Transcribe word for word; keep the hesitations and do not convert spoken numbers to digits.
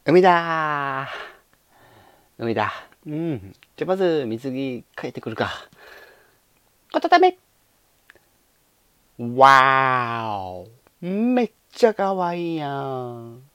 海だー海だ。うん。じゃあまず水着帰ってくるか。こたため。わーお。めっちゃかわいいやん。